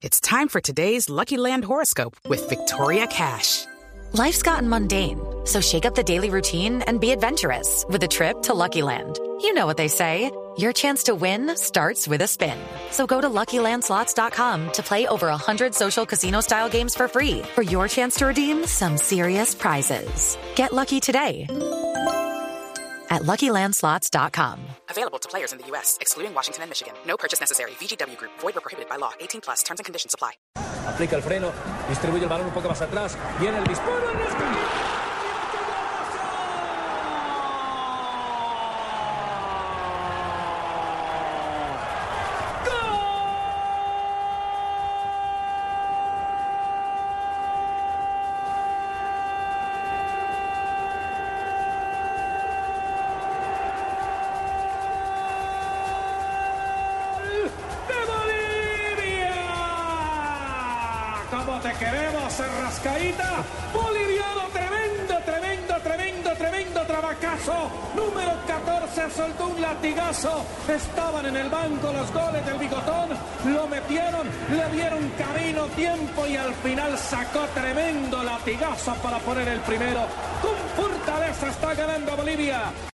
It's time for today's Lucky Land horoscope with Victoria Cash. Life's gotten mundane, so shake up the daily routine and be adventurous with a trip to Lucky Land. You know what they say, your chance to win starts with a spin. So go to LuckyLandSlots.com to play over 100 social casino-style games for free for your chance to redeem some serious prizes. Get lucky today at LuckyLandSlots.com. Available to players in the U.S., excluding Washington and Michigan. No purchase necessary. VGW Group. Void or prohibited by law. 18+. Terms and conditions apply. Aplica el freno, distribuye el balón un poco más atrás. Viene el disparo. ¡Cómo te queremos, Rascaíta! Boliviano, tremendo trabacazo. Número 14 soltó un latigazo. Estaban en el banco los goles del Bigotón. Lo metieron, le dieron camino, tiempo y al final sacó tremendo latigazo para poner el primero. Con fortaleza está ganando Bolivia.